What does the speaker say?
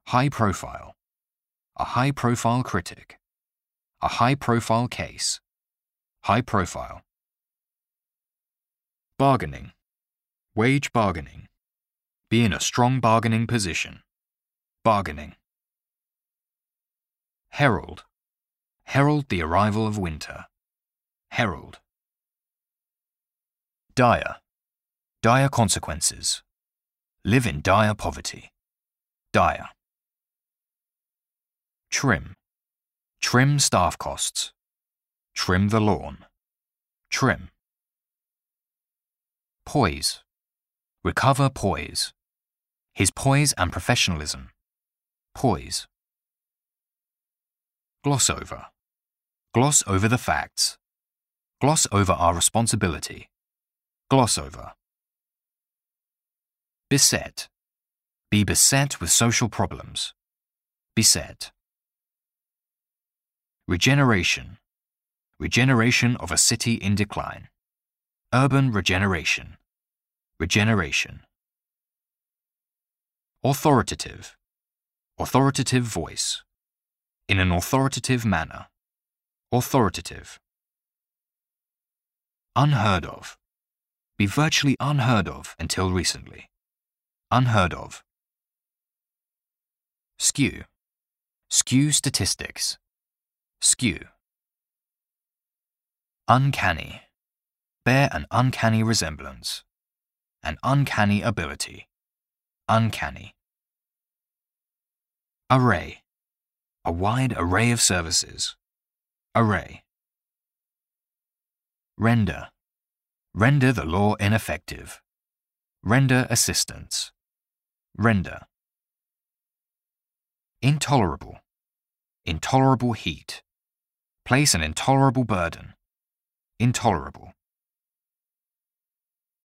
High profile. A high-profile critic. A high-profile case. High profile. Bargaining. Wage bargaining. Be in a strong bargaining position. Bargaining. Herald. Herald the arrival of winter. Herald. Dire. Dire consequences. Live in dire poverty. Dire. Trim. Trim staff costs. Trim the lawn. Trim. Poise. Recover poise. His poise and professionalism. Poise. Gloss over. Gloss over the facts. Gloss over our responsibility. Gloss over. Beset. Be beset with social problems. Beset. Regeneration. Regeneration of a city in decline. Urban regeneration. Regeneration. Authoritative. Authoritative voice. In an authoritative manner. Authoritative. Unheard of. Be virtually unheard of until recently. Unheard of. Skew. Skew statistics. Skew. Uncanny. Bear an uncanny resemblance. An uncanny ability. Uncanny. Array. A wide array of services. Array. Render. Render the law ineffective. Render assistance. Render. Intolerable. Intolerable heat. Place an intolerable burden. Intolerable.